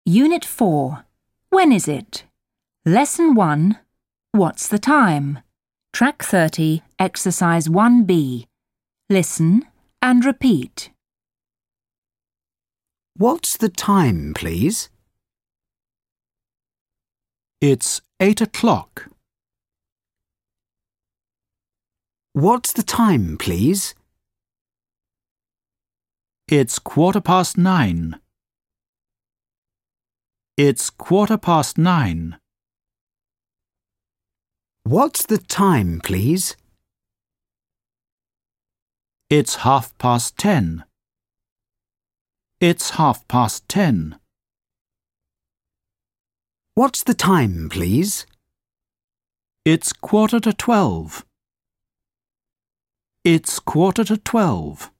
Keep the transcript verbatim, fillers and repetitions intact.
Unit four. When is it? Lesson one. What's the time? Track thirty, Exercise one B. Listen and repeat. What's the time, please? It's eight o'clock. What's the time, please? It's quarter past nine. It's quarter past nine. What's the time, please? It's half past ten. It's half past ten. What's the time, please? It's quarter to twelve. It's quarter to twelve.